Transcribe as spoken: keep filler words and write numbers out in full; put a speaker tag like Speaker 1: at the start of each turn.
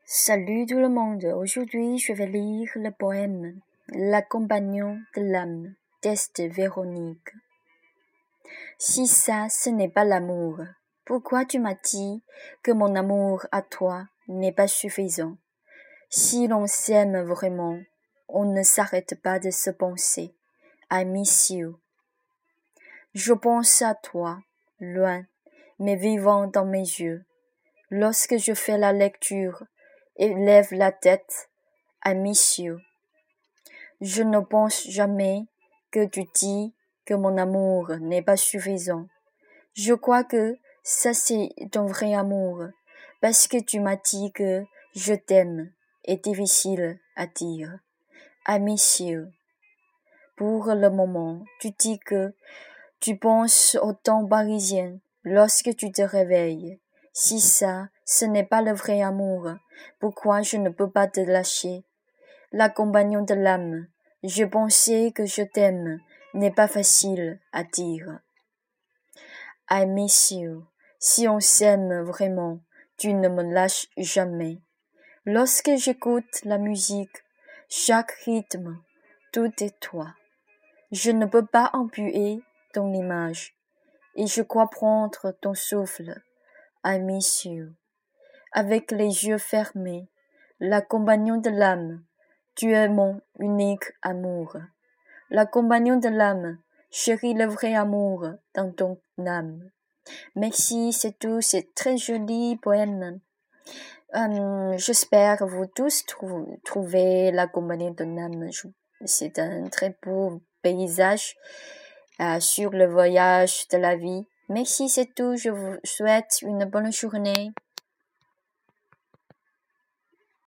Speaker 1: Salut tout le monde, aujourd'hui je vais lire le poème La compagnon de l'âme d'Est Véronique. Si ça, ce n'est pas l'amour, pourquoi tu m'as dit que mon amour à toi n'est pas suffisant? Si l'on s'aime vraiment, on ne s'arrête pas de se penser. I miss you. Je pense à toi, loin, mais vivant dans mes yeux. Lorsque je fais la lecture et lève la tête, I miss you. Je ne pense jamais que tu dis que mon amour n'est pas suffisant. Je crois que ça c'est ton vrai amour, parce que tu m'as dit que je t'aime est difficile à dire. I miss you. Pour le moment, tu dis que tu penses au temps parisien lorsque tu te réveilles. Si ça, ce n'est pas le vrai amour, pourquoi je ne peux pas te lâcher? La compagnon de l'âme, je pensais que je t'aime n'est pas facile à dire. I miss you. Si on s'aime vraiment, tu ne me lâches jamais. Lorsque j'écoute la musique, chaque rythme, tout est toi. Je ne peux pas empuer ton image, et je crois prendre ton souffle. I miss you. Avec les yeux fermés, la compagnon de l'âme, tu es mon unique amour. La compagnon de l'âme, chéris le vrai amour dans ton âme. Merci, c'est tout, c'est très joli poème. Euh, j'espère vous tous trou- trouver la compagnie de l'âme. C'est un très beau paysage euh, sur le voyage de la vie. Merci, c'est tout. Je vous souhaite une bonne journée.